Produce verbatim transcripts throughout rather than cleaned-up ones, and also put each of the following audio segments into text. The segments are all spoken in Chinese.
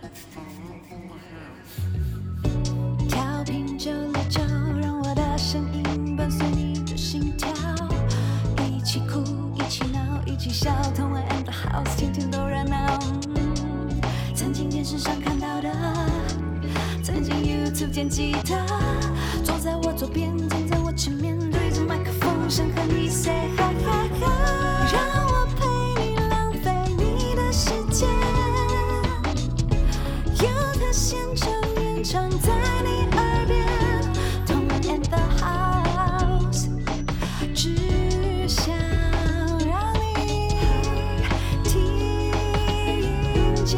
调频九六九，让我的声音伴随你的心跳，一起哭，一起闹，一起笑，同玩 and the house， 天天都热闹。嗯、曾经电视上看到的，曾经 YouTube 见吉他，坐在我左边，站在我前面，对着麦克风，想和你 say hi hi hi， 让我陪你浪费你的时间，有他现场演唱在你耳边，同玩 and the house， 只想让你听见。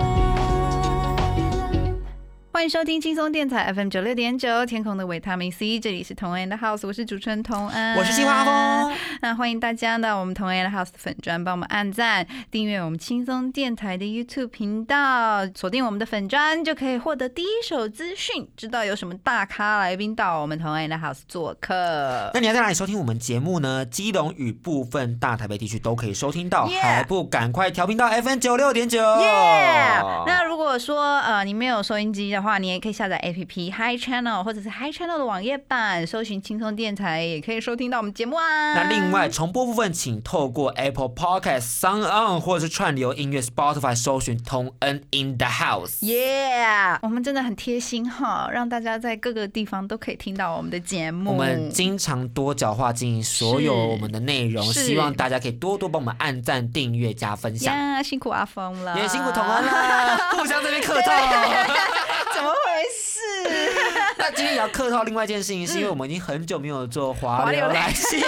欢迎收听轻松电台 F M 九六点九，天空的维他命 C， 这里是同安的 House， 我是主持人同安， 我是新华峰。 那欢迎大家到我们同安的 House 的粉专，帮我们按赞、订阅我们轻松电台的 YouTube 频道，锁定我们的粉专，就可以获得第一手资讯，知道有什么大咖来宾到我们同安的 House 做客。 那你要在哪里收听我们节目呢？基隆与部分大台北地区都可以收听到， yeah. 还不赶快调频到 F M 九六点九。 那如果说呃你没有收音机的话，你也可以下载 A P P Hi Channel 或者是 Hi Channel 的网页版，搜寻轻松电台，也可以收听到我们节目啊。 那另外重播部分，请透过 Apple Podcast、SoundOn 或者是串流音乐 Spotify 搜寻同恩 in the house。 Yeah， 我们真的很贴心哈，让大家在各个地方都可以听到我们的节目。 我们经常多角化经营所有我们的内容，希望大家可以多多帮我们按赞、订阅、加分享。 呀，辛苦阿峰了， 也辛苦同恩了，互相这边客套。 怎么回事？ 那今天也要客套另外一件事情，是因为我们已经很久没有做华流来信。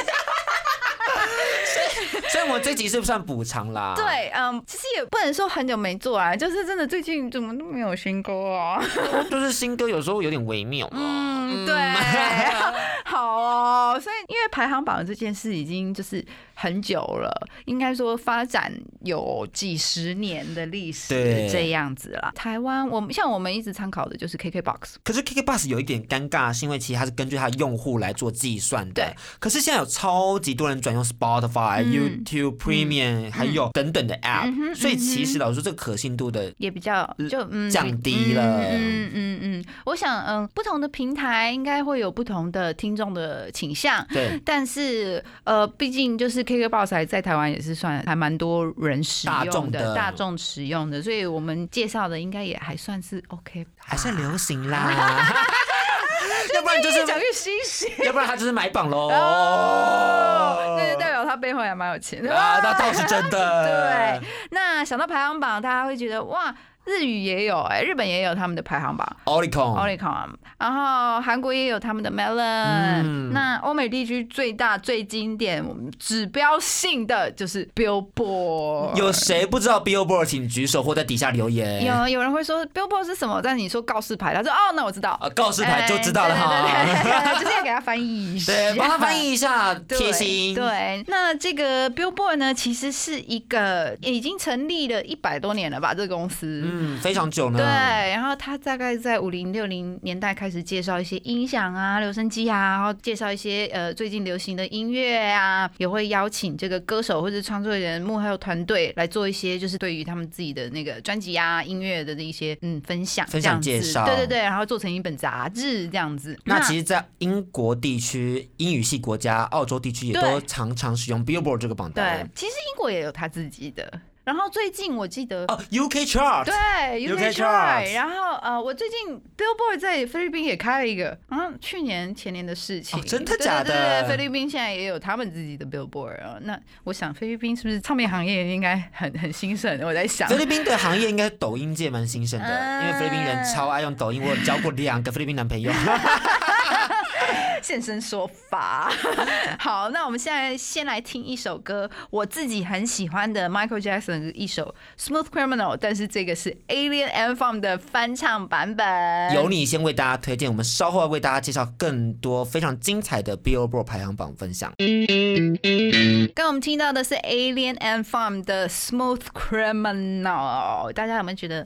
所以我们这集是不是算补偿啦？ 对，嗯，其实也不能说很久没做啊，就是真的最近怎么都没有新歌啊。 就是新歌有时候有点微妙。 嗯，对，好哦。所以因为排行榜这件事已经就是很久了，应该说发展有几十年的历史这样子啦。台湾我们像我们一直参考的就是 K K B O X， 可是 K K B O X 有一点尴尬，是因为其实它是根据它的用户来做计算的。 对。 可是现在有超级多人转用 Spotify、YouTube Premium、嗯、还有等等的 App，、嗯、所以其实老实说，这个可信度的也比较就嗯降低了。 嗯嗯嗯，我想嗯，不同的平台应该会有不同的听众的倾向。 对。 但是呃，毕竟就是 K K B O X 在台湾也是算还蛮多人使用的，大众的大众使用的，所以我们介绍的应该也还算是 OK， 还算流行啦。要不然就是越讲越新鲜， 要不然他就是买榜喽。 哦，那就代表他背后也蛮有钱的啊，那倒是真的。 对，那想到排行榜，大家会觉得哇。日语也有哎、欸，日本也有他们的排行榜 ，Oricon，Oricon， 然后韩国也有他们的 Melon，、嗯、那欧美地区最大、最经典、指标性的就是 Billboard。 有谁不知道 Billboard？ 请举手或在底下留言。 有有人会说 Billboard 是什么？但你说告示牌，他说哦，那我知道。 啊，告示牌就知道了哈。 欸、对对对对，就是要给他翻译一下， 对，帮他翻译一下，贴心。 对，那这个 Billboard 呢，其实是一个已经成立了一百多年了吧，这个公司。 嗯，非常久呢。 对，然后他大概在五零六零年代开始介绍一些音响啊、留声机啊，然后介绍一些呃最近流行的音乐啊，也会邀请这个歌手或者创作人、幕后团队来做一些就是对于他们自己的那个专辑啊、音乐的一些嗯分享、 分享介绍。 对对对，然后做成一本杂志这样子。 那其实，在英国地区、英语系国家、澳洲地区也都常常使用 Billboard 这个榜单。 对，其实英国也有他自己的。然后最近我记得哦 ，U K Chart， 对 U K Chart， 然后呃，我最近 Billboard 在菲律宾也开了一个，好像去年前年的事情， 哦、真的假的？ 对对对，菲律宾现在也有他们自己的 Billboard 啊。那我想菲律宾是不是唱片行业应该很很兴盛？我在想， 菲律宾的行业应该抖音界蛮兴盛的，嗯、因为菲律宾人超爱用抖音，我有交过两个菲律宾男朋友。 现身说法。好，那我们现在先来听一首歌，我自己很喜欢的 Michael Jackson 的一首 Smooth Criminal， 但是这个是 Alien and Farm 的翻唱版本。 由你先为大家推荐，我们稍后为大家介绍更多非常精彩的 Billboard 排行榜分享。 刚我们听到的是 Alien and Farm 的 Smooth Criminal， 大家有没有觉得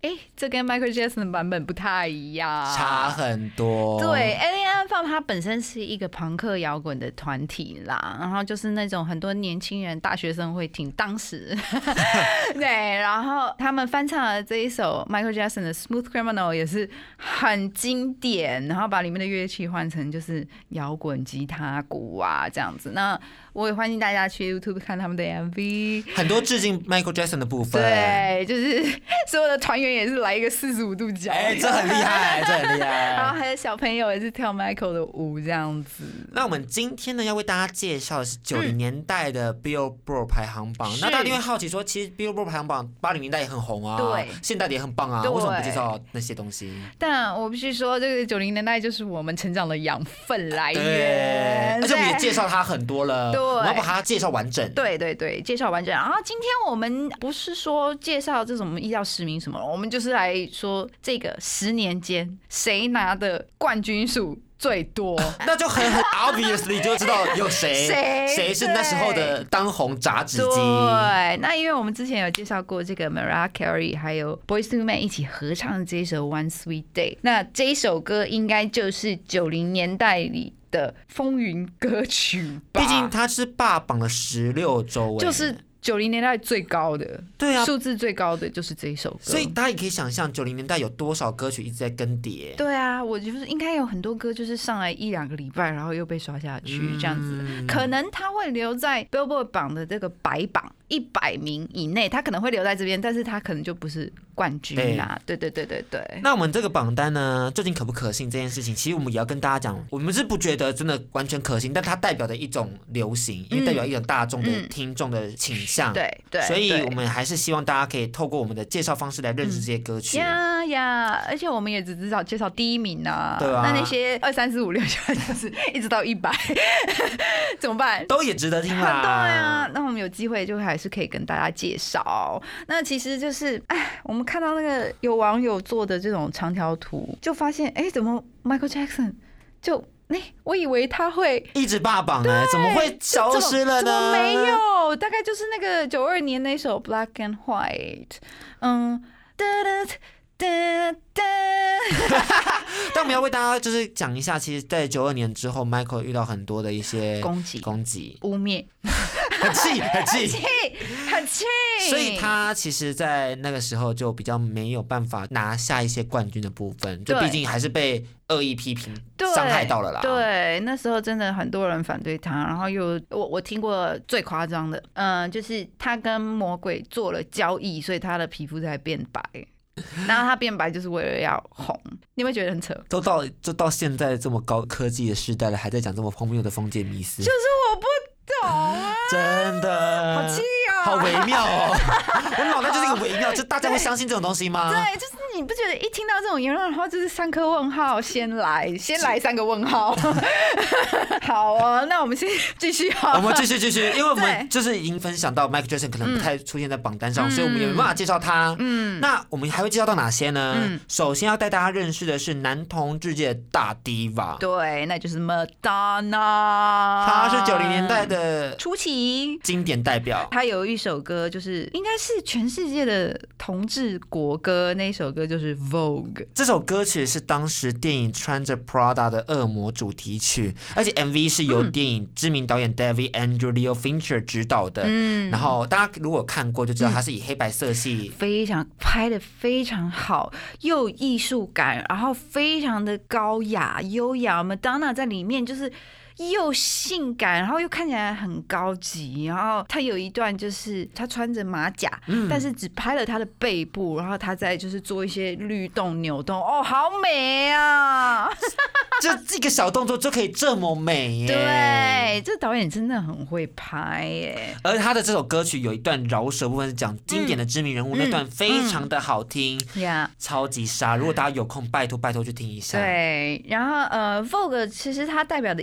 哎，这跟 Michael Jackson 的版本不太一样， 差很多。 对 ，Alien Ant Farm 它本身是一个朋克摇滚的团体啦，然后就是那种很多年轻人、大学生会听，当时对，然后他们翻唱的这一首 Michael Jackson 的 Smooth Criminal 也是很经典，然后把里面的乐器换成就是摇滚吉他、鼓啊这样子。那我也欢迎大家去 YouTube 看他们的 M V， 很多致敬 Michael Jackson 的部分。 对，就是所有的团员也是来一个四十五度角， 哎、欸，这很厉害，这很厉害。 然后还有小朋友也是跳 Michael 的舞这样子。 那我们今天呢，要为大家介绍的是九零年代的 Billboard 排行榜。嗯、那大家一定会好奇说，其实 Billboard 排行榜八零年代也很红啊， 对， 现代的也很棒啊，为什么不介绍那些东西？ 但我必须说，这个九零年代就是我们成长的养分来源， 而且我们也介绍它很多了， 对， 我们要把它介绍完整。 对对对，介绍完整。然后今天我们不是说介绍这种一到十名什么，我们就是来说这个十年间谁拿的冠军数最多， 那就很很 obviously 就知道有谁谁是那时候的当红炸子鸡。 对，那因为我们之前有介绍过这个 Mariah Carey 还有 Boyz II Men 一起合唱的这一首 One Sweet Day， 那这一首歌应该就是九零年代里的风云歌曲吧， 毕竟它是霸榜了十六周， 就是九零年代最高的， 对啊， 数字最高的就是这一首歌， 所以大家也可以想象九零年代有多少歌曲一直在更迭。 对啊，我就是应该有很多歌就是上来一两个礼拜，然后又被刷下去，嗯、这样子，可能它会留在 Billboard 榜的这个白榜一百名以内，它可能会留在这边，但是它可能就不是冠军啦。对对对对对。 那我们这个榜单呢，究竟可不可信这件事情，其实我们也要跟大家讲，我们是不觉得真的完全可信，但它代表的一种流行，因为代表一种大众的听众的倾向。嗯嗯、 对对。 所以我们还是希望大家可以透过我们的介绍方式来认识这些歌曲。 呀呀、嗯，而且我们也只知道介绍第一名啊， 对啊。 那那些二三四五六七就是一直到一百，怎么办？ 都也值得听啦。 对啊，那我们有机会就还是可以跟大家介绍。那其实就是，哎，我们看到那个有网友做的这种长条图，就发现，哎，怎么 Michael Jackson 就。哎、欸，我以为他会一直霸榜呢，怎么会消失了呢？ 怎么没有？大概就是那个九二年那首《Black and White》，嗯，哒哒哒哒。 但我们要为大家就是讲一下，其实，在九二年之后 ，Michael 遇到很多的一些攻击、 攻击、 污蔑， 很气、很气、 很气、很气。 所以他其实，在那个时候就比较没有办法拿下一些冠军的部分，就毕竟还是被恶意批评伤害到了啦。 对，那时候真的很多人反对他，然后又我我听过最夸张的，嗯、呃，就是他跟魔鬼做了交易，所以他的皮肤才变白。然后他变白就是为了要红，你有没有觉得很扯？ 都到就到现在这么高科技的时代了，还在讲这么荒谬的封建迷思， 就是我不懂啊， 真的好气哦， 好微妙哦，我脑袋就是一个微妙，就大家会相信这种东西吗？ 对，就是你不觉得一听到这种言论，然后就是三颗问号，先来先来三个问号。好哦，那我们先继续好了， 我们继续继续，因为我们就是已经分享到 Michael Jackson 可能不太出现在榜单上，嗯、所以我们也没办法介绍他。嗯，那我们还会介绍到哪些呢？嗯、首先要带大家认识的是男同志界的大 diva， 对，那就是 Madonna， 他是九零年代的初期经典代表。 他有一首歌，就是应该是全世界的同志国歌，那一首歌就是 Vogue。 这首歌曲是当时电影《穿着 Prada 的恶魔》主题曲，而且 M V 是由电影知名导演 David Andrew Leo Fincher 执导的。嗯，然后大家如果看过就知道，他是以黑白色系， 嗯、非常拍的非常好，又艺术感，然后非常的高雅优雅。Madonna 在里面就是。又性感，然后又看起来很高级，然后他有一段就是他穿着马甲，嗯、但是只拍了他的背部，然后他在就是做一些律动扭动，哦，好美啊！ 就这个小动作就可以这么美耶！ 对，这导演真的很会拍耶。 而他的这首歌曲有一段饶舌部分是讲经典的知名人物，嗯、那段非常的好听，嗯、超级杀！如果大家有空，拜托拜托去听一下。 对，然后呃 ，Vogue 其实它代表的意思就是。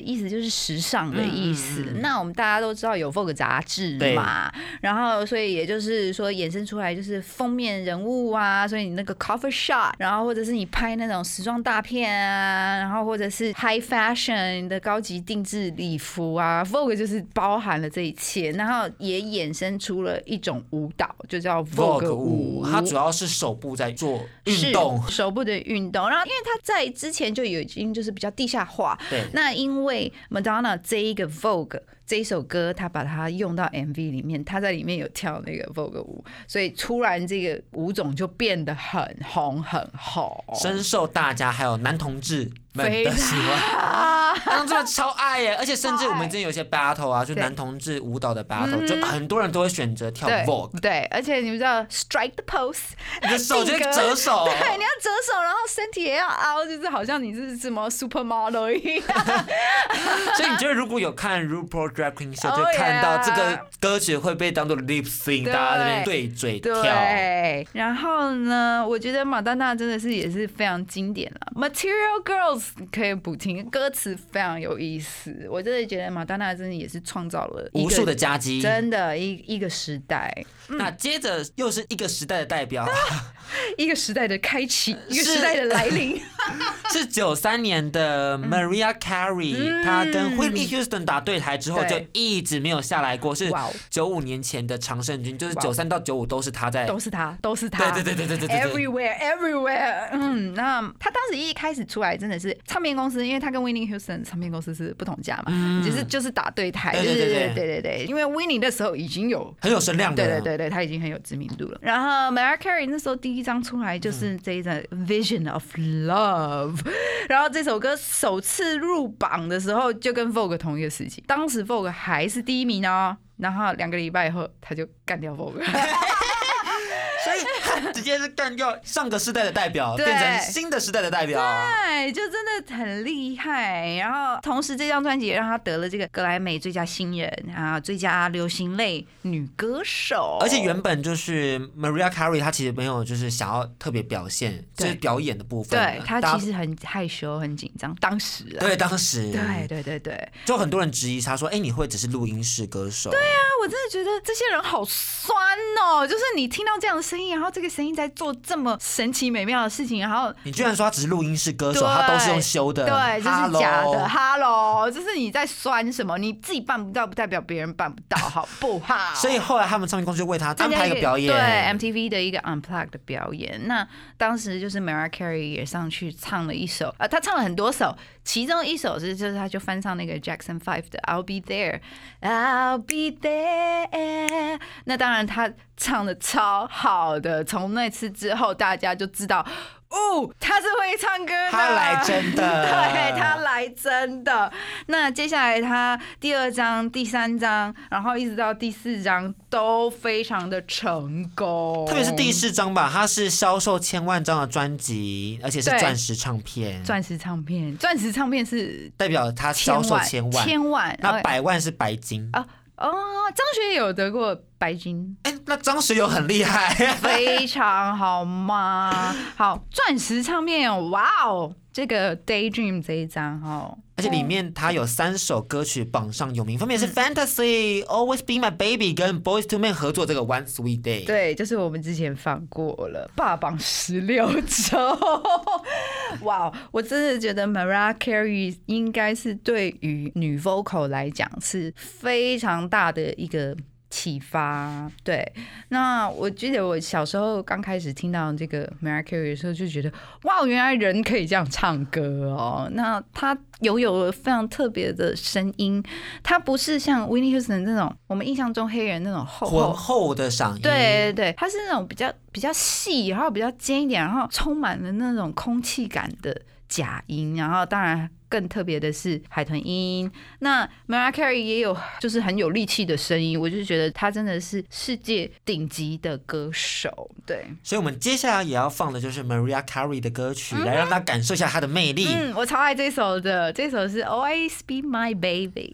就是时尚的意思。嗯嗯嗯那我们大家都知道有 Vogue 杂志嘛，然后所以也就是说衍生出来就是封面人物啊，所以你那个 cover shot， 然后或者是你拍那种时装大片啊，然后或者是 high fashion 的高级定制礼服啊 ，Vogue 就是包含了这一切，然后也衍生出了一种舞蹈，就叫 Vogue 舞， 它主要是手部在做运动， 手部的运动。然后因为它在之前就已经就是比较地下化， 对， 那因为 Madonna 这一个 Vogue 这一首歌，他把它用到 M V 里面，他在里面有跳那个 Vogue 舞，所以突然这个舞种就变得很红很红， 深受大家还有男同志们的喜欢，他们超爱耶！而且甚至我们之前有些 battle 啊，就男同志舞蹈的 battle， 就很多人都会选择跳 Vogue。 对，而且你们知道 strike the pose， 你的手就折手， 对，你要折手，然后身体也要凹，就是好像你是什么 supermodel 一样。 所以你觉得如果有看 RuPaul Drag Queen Show， 就看到这个歌曲会被当作 lip sync， 大家在那边对嘴跳。 对，然后呢，我觉得马丹娜真的是也是非常经典了。Material Girls 可以补听，歌词非常有意思。我真的觉得马丹娜真的也是创造了无数的佳绩， 真的一一个时代。 嗯、那接着又是一个时代的代表， 一个时代的开启，一个时代的来临。 是九三年的 Mariah Carey，、嗯、她跟 Whitney Houston 打对台之后就一直没有下来过，是九五年前的常胜军，就是九三到九五都是她在， 都是她，都是她， 对对对对对对 ，Everywhere Everywhere。嗯，那她当时一开始出来真的是唱片公司，因为她跟 Whitney Houston 唱片公司是不同家嘛，嗯、就是就是打对台，对对对对对对对，因为 Whitney 那时候已经有很有声量的， 对对对对，她已经很有知名度了。然后 Mariah Carey 那时候第一张出来就是这一张 Vision of Love。然后这首歌首次入榜的时候就跟 Vogue 同一个时期，当时 Vogue 还是第一名哦，然后两个礼拜以后他就干掉 Vogue。 所以他直接是干掉上个世代的代表，变成新的时代的代表， 对，就真的很厉害。然后同时这张专辑也让他得了这个格莱美最佳新人啊，最佳流行类女歌手。 而且原本就是 Mariah Carey， 她其实没有就是想要特别表现，就是表演的部分。 对，她其实很害羞、很紧张。当时啊， 对，当时， 对对对对， 就很多人质疑她说：“哎、欸，你会只是录音室歌手？” 对啊，我真的觉得这些人好酸哦，就是你听到这样的声音，然后这个声音在做这么神奇美妙的事情，然后你居然说他只是录音室歌手，他都是用修的， 对，这是假的。Hello， 就是你在酸什么？你自己办不到，不代表别人办不到，好不好？ 所以后来他们唱片公司就为他安排一个表演， 对 M T V 的一个 Unplugged 的表演。那当时就是 Mariah Carey 也上去唱了一首，呃，他唱了很多首，其中一首是就是他就翻唱那个 Jackson Five 的 I'll Be There，I'll Be There。那当然他唱的超好的，从那次之后大家就知道。哦，他是会唱歌的， 他来真的， 对，他来真的。那接下来他第二章、第三章，然后一直到第四章都非常的成功， 特别是第四章吧，它是销售千万张的专辑，而且是钻石唱片。 钻石唱片，钻石唱片是代表他销售千万， 千万， 那百万是白金啊。哦，张学友有得过白金， 哎、欸，那张学友很厉害， 非常好吗？好，钻石唱片，哇哦，这个 Daydream 这一张哈， 而且里面它有三首歌曲榜上有名，分别是 Fantasy、Always Be My Baby 跟 Boyz II Men 合作这个 One Sweet Day。 对，就是我们之前放过了，霸榜十六周。哇，我真的觉得 Mariah Carey 应该是对于女 vocal 来讲是非常大的一个启发。对，那我记得我小时候刚开始听到这个 Mariah Carey 的时候，就觉得哇，原来人可以这样唱歌哦。那他拥有了非常特别的声音，他不是像 Whitney Houston 那种我们印象中黑人那种厚浑厚的嗓音， 对对对，他是那种比较比较细，然后比较尖一点，然后充满了那种空气感的假音，然后当然更特别的是海豚音。那 Mariah Carey 也有就是很有力气的声音，我就觉得她真的是世界顶级的歌手。对， 所以我们接下来也要放的就是 Mariah Carey 的歌曲，嗯、来让她感受一下她的魅力。 嗯，我超爱这首的，这首是 Always Be My Baby。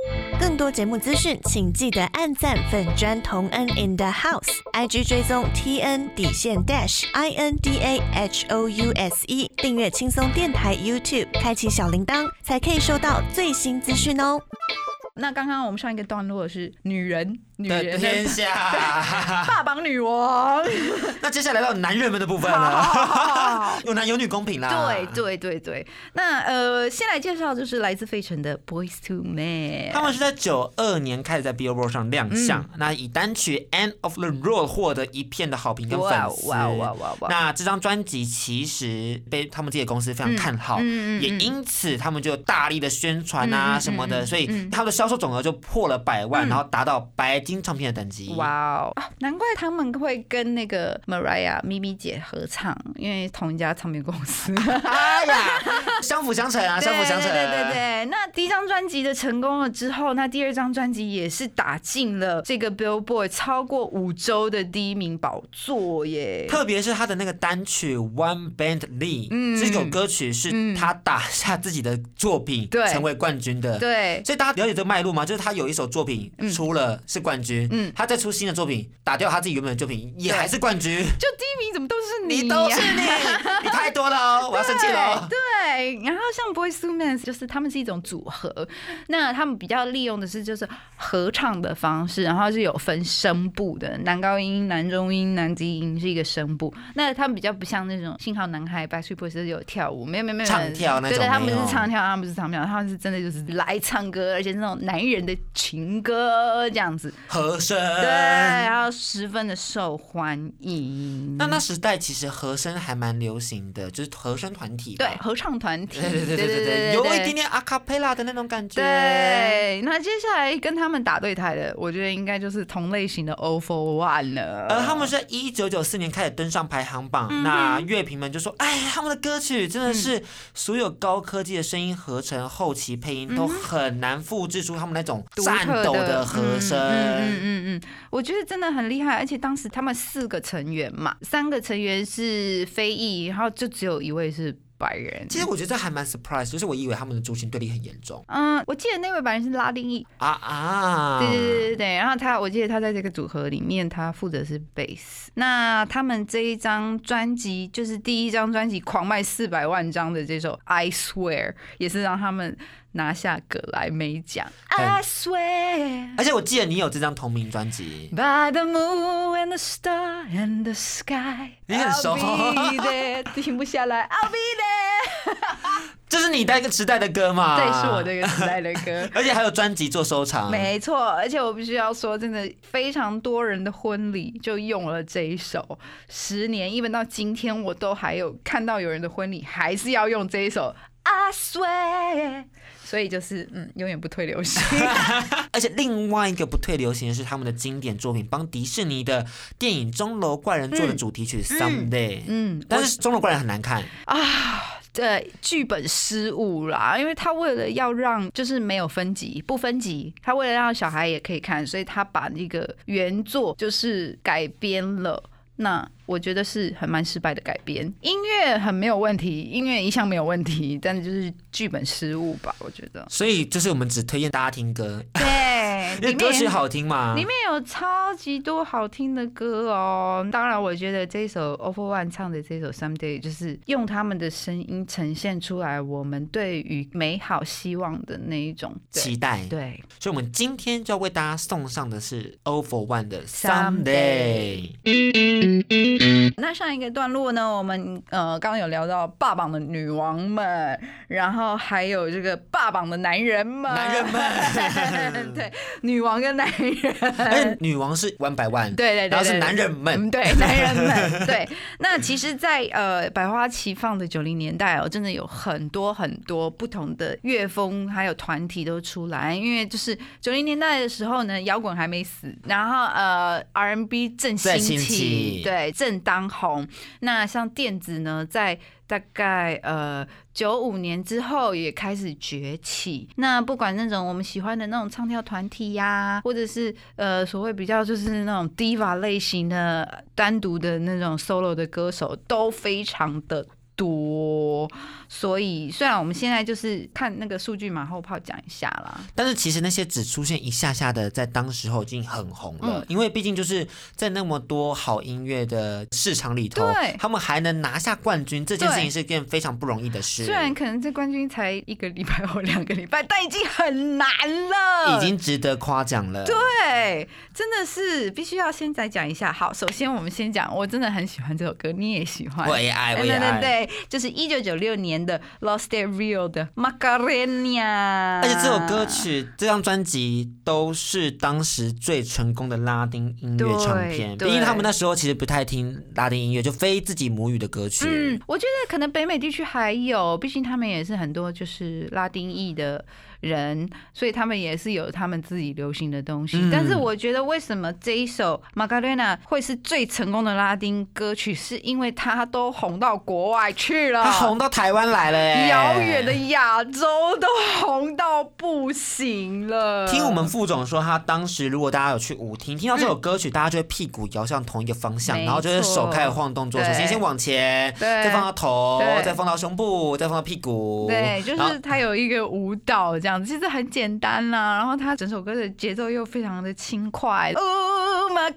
更多节目资讯，请记得按赞粉专同恩 in the house，I G 追踪 T N 底线 dash I N D A H O U S E， 订阅轻松电台 YouTube， 开启小铃铛，才可以收到最新资讯哦。 那刚刚我们上一个段落是女人，女人的天下， 霸榜女王。 那接下来到男人们的部分了，有男有女公平啦。 对对对对，那呃，先来介绍就是来自费城的 Boyz two Men， 他们是在九二年开始在 Billboard 上亮相，嗯、那以单曲 End of the Road 获得一片的好评跟粉丝。哇哇哇哇！那这张专辑其实被他们自己的公司非常看好，嗯、也因此他们就大力的宣传啊什么的，嗯、所以他们的销售总额就破了百万，嗯、然后达到白金唱片的等级。 哇哦，难怪他们会跟那个 Mariah 咪咪姐合唱，因为同一家唱片公司。 哎呀，相辅相成啊，相辅相成。 对对对对，那第一张专辑的成功了之后，那第二张专辑也是打进了这个 Billboard 超过五周的第一名宝座耶。 特别是他的那个单曲 One Band Lee，嗯、这首歌曲是他打下自己的作品，嗯、成为冠军的。 对， 所以大家了解这个脉络吗？就是他有一首作品出了是冠军，嗯、他再出新的作品，打掉他自己原本的作品也还是冠军。 就第一名怎么都是你、啊？ 你都是你，你太多了哦，我要生气了。 对，然后像 Boyz two Men 就是他们是一种组合，那他们比较利用的是就是合唱的方式，然后是有分声部的，男高音、男中音、男低音是一个声部。那他们比较不像那种信号男孩 Backstreet Boys 是有跳舞，没有没有没有唱跳那种， 对对，他们是唱跳，他们是唱跳，他们是真的就是来唱歌，而且是那种男人的情歌这样子， 和声， 对，然后十分的受欢迎。 那那时代其实和声还蛮流行的，就是和声团体， 对，合唱团体， 对对对对 对, 对，有一点点阿卡贝拉的那种感觉。 对，那接下来跟他们打对台的，我觉得应该就是同类型的 O for One 了。 而他们是在一九九四年开始登上排行榜，嗯、那乐评们就说：“哎，他们的歌曲真的是所有高科技的声音合成、后期配音都很难复制出他们那种颤抖的和声。” 嗯嗯嗯嗯，我觉得真的很厉害。而且当时他们四个成员嘛，三个成员是非裔，然后就只有一位是白人。 其实我觉得这还蛮 surprise， 就是我以为他们的族群对立很严重。 嗯，我记得那位白人是拉丁裔啊啊， 对对对对对。然后他，我记得他在这个组合里面，他负责是贝斯。那他们这一张专辑就是第一张专辑狂卖四百万张的这首《I Swear》，也是让他们拿下葛莱美奖。I swear， 而且我记得你有这张同名专辑。 By the moon and the star and the sky， 你很熟。 I'll be there， 停不下来。I'll be there 这是你那个时代的歌嘛？ 对，是我这个时代的歌。 而且还有专辑做收藏。 没错，而且我必须要说，真的非常多人的婚礼就用了这一首，十年，even到今天我都还有看到有人的婚礼还是要用这一首。I swear， 所以就是嗯，永远不退流行。 而且另外一个不退流行的是他们的经典作品，帮迪士尼的电影《钟楼怪人》做的主题曲《Someday》。嗯，但是《钟楼怪人》很难看啊。对，剧本失误啦，因为他为了要让就是没有分级不分级，他为了让小孩也可以看，所以他把那个原作就是改编了。那我觉得是很蛮失败的改编，音乐很没有问题，音乐一向没有问题，但是就是剧本失误吧，我觉得。 所以就是我们只推荐大家听歌， 对， 因为歌曲好听嘛， 里面有超级多好听的歌哦。当然，我觉得这首 O for One 唱的这首 Someday 就是用他们的声音呈现出来我们对于美好希望的那一种期待。 对， 所以我们今天就要为大家送上的是 O for One 的 Someday。 那上一个段落呢，我们呃刚刚有聊到霸榜的女王们，然后还有这个霸榜的男人们， 男人们， 对，女王跟男人， 而且女王是one by one， 对对对， 然后是男人们， 对，男人们，对。那其实在，在呃百花齐放的九零年代哦，真的有很多很多不同的乐风还有团体都出来，因为就是九零年代的时候呢，摇滚还没死，然后呃 R and B 正兴起，对，正当红。那像电子呢，在大概呃九五年之后也开始崛起。那不管那种我们喜欢的那种唱跳团体呀、啊，或者是呃所谓比较就是那种 diva 类型的单独的那种 solo 的歌手，都非常的多，所以虽然我们现在就是看那个数据马后炮讲一下啦， 但是其实那些只出现一下下的，在当时候已经很红了，嗯、因为毕竟就是在那么多好音乐的市场里头，他们还能拿下冠军，这件事情是一件非常不容易的事。 虽然可能这冠军才一个礼拜或两个礼拜，但已经很难了， 已经值得夸奖了。 对，真的是必须要先再讲一下。好，首先我们先讲，我真的很喜欢这首歌，你也喜欢， 我也爱，我也爱。 对对对，就是一九九六年的 Lost at Rio 的 Macarena， 而且这首歌曲、这张专辑都是当时最成功的拉丁音乐唱片。毕竟他们那时候其实不太听拉丁音乐，就非自己母语的歌曲。 嗯，我觉得可能北美地区还有，毕竟他们也是很多就是拉丁裔的人，所以他们也是有他们自己流行的东西。嗯、但是我觉得为什么这一首 Macarena 会是最成功的拉丁歌曲，是因为它都红到国外去了， 它红到台湾来了耶， 遥远的亚洲都红到不行了。 听我们副总说，他当时如果大家有去舞厅听到这首歌曲，嗯、大家就会屁股摇向同一个方向，然后就是手开始晃动作，首先先往前，再放到头，再放到胸部，再放到屁股。 对，就是它有一个舞蹈这样子，其实很简单啦。然后它整首歌的节奏又非常的轻快。Oh my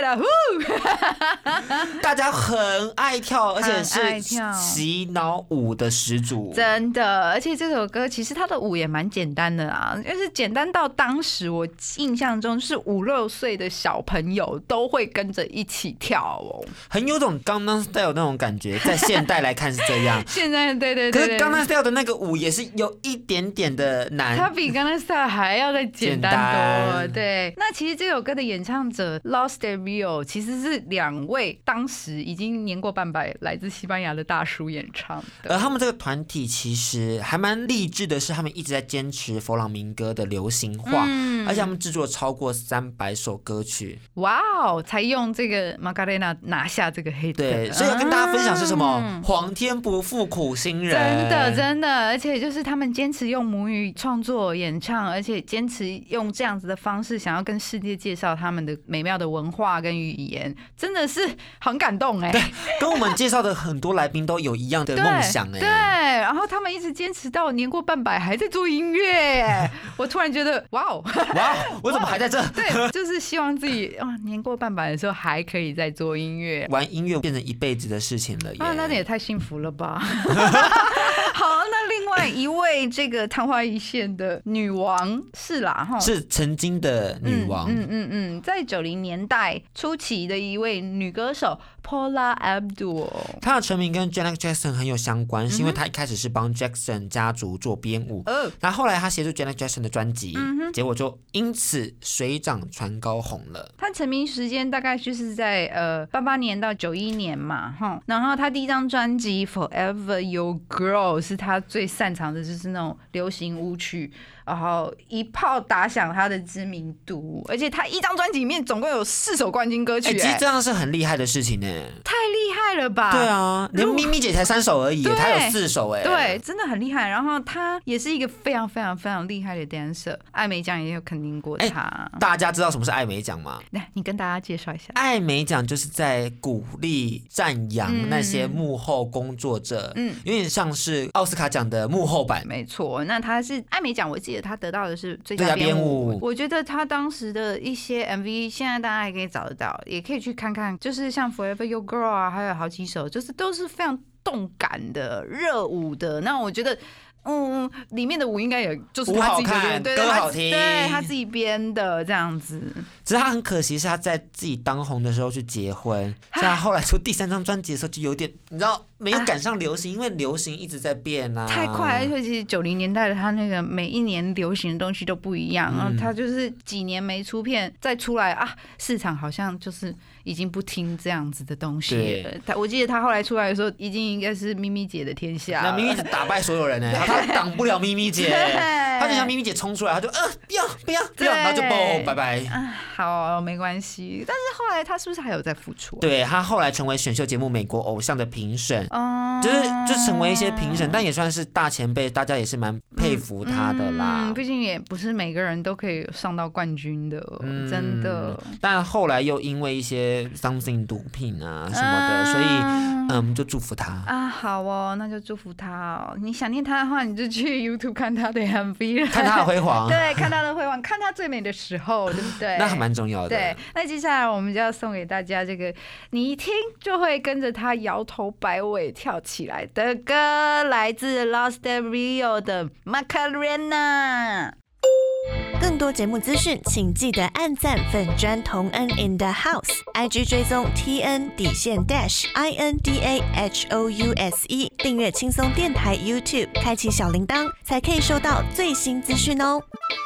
God， 大家很爱跳，而且是洗脑舞的始祖。 真的，而且这首歌其实它的舞也蛮简单的啦，就是简单到当时我印象中是五六岁的小朋友都会跟着一起跳哦， 很有种刚刚 style 那种感觉。在现代来看是这样， 现在对对对， 可是刚刚 style 的那个舞也是有一点点的难， 它比刚刚 style 还要再简单多。对，那其实这首歌的演唱者 Lost at Rio 其实是两位当时已经年过半百来自西班牙的大叔演唱的。 而他们这个团体其实还蛮励志的，是他们一直在坚持佛朗明哥的流行化，嗯、而且他们制作超过三百首歌曲。 哇哦，才用这个 Macarena 拿下这个黑的。 对，所以要跟大家分享是什么？嗯、皇天不负苦心人， 真的真的，而且就是他们坚持用母语创作演唱，而且坚持用这样子的方式，想要跟世界介绍他们的美妙的文化跟语言，真的是很感动哎、欸。 对，跟我们介绍的很多来宾都有一样的梦想哎、欸。 对，然后他们一直坚持到年过半百还在做音乐，我突然觉得哇哦哇，我怎么还在这？ 对，就是希望自己啊年过半百的时候还可以再做音乐， 玩音乐变成一辈子的事情了耶。 啊，那也太幸福了吧。好，那另外一位这个昙花一现的女王是啦哈， 是曾经的女王， 嗯嗯嗯，在九零年代初期的一位女歌手 Paula Abdul， 她的成名跟 Janet Jackson 很有相关，是因为她一开始是帮 Jackson 家族做编舞，嗯，然后后来她协助 Janet Jackson 的专辑，嗯、结果就因此水涨船高红了。 她成名时间大概就是在呃八八年到九一年嘛，哈，然后她第一张专辑 Forever Your Girl 是她最擅长的，就是那种流行舞曲。然后一炮打响他的知名度，而且他一张专辑里面总共有四首冠军歌曲、欸， 其实这样是很厉害的事情呢、欸， 太厉害了吧？ 对啊，连咪咪姐才三首而已，她有四首哎、欸， 对，真的很厉害。然后他也是一个非常非常非常厉害的 dancer， 艾美奖也有肯定过他、欸。 大家知道什么是艾美奖吗？ 来，你跟大家介绍一下。 艾美奖就是在鼓励、赞扬那些幕后工作者，嗯，有点像是奥斯卡奖的幕后版。 没错，那他是艾美奖，我记得他得到的是最佳编舞，我觉得他当时的一些 M V 现在大家也可以找得到，也可以去看看，就是像 Forever Your Girl 啊，还有好几首，就是都是非常动感的热舞的。那我觉得嗯，里面的舞应该也就是他自己编，对， 歌好听， 对他自己编的这样子。 只是他很可惜，是他在自己当红的时候去结婚，所以他后来出第三张专辑的时候就有点，你知道没有赶上流行，因为流行一直在变啊， 太快。而且其实九零年代的他那个每一年流行的东西都不一样，嗯、然后他就是几年没出片，再出来啊，市场好像就是已经不听这样子的东西了。他我记得他后来出来的时候，已经应该是咪咪姐的天下了， 那咪咪姐打败所有人呢、欸，他挡不了咪咪姐，他就像咪咪姐冲出来，他就呃不要不要不要，然后就啵拜拜。 好，没关系。但是后来他是不是还有在复出、啊？ 对，他后来成为选秀节目《美国偶像》的评审，嗯、就是就成为一些评审，但也算是大前辈，大家也是蛮佩服他的啦。 毕、嗯嗯、竟也不是每个人都可以上到冠军的，嗯、真的。 但后来又因为一些 something 毒品啊什么的，嗯、所以嗯，就祝福他啊。好哦，那就祝福他哦。你想念他的话，你就去 YouTube 看他的 M V， 看他的辉煌。 对，看他的辉煌，看他最美的时候，对不对？ 那还蛮重要的。 对，那接下来我们就要送给大家这个你一听就会跟着他摇头摆尾跳起来的歌，来自 Lost Rio 的 Macarena。 更多节目资讯，请记得按赞粉专同恩 in the house，I G 追踪 T N 底线 dash I N D A H O U S E， 订阅轻松电台 YouTube， 开启小铃铛，才可以收到最新资讯哦。